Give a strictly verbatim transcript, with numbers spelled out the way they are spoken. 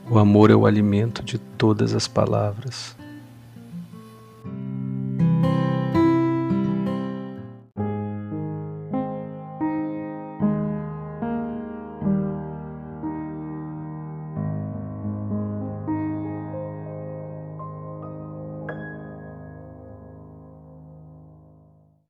O amor é o alimento de todas as palavras.